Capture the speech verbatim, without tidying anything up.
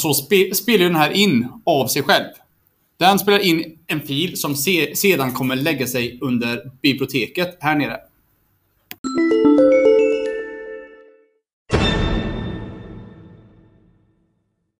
så spe, spelar den här in av sig själv. Den spelar in en fil som se, sedan kommer lägga sig under biblioteket här nere.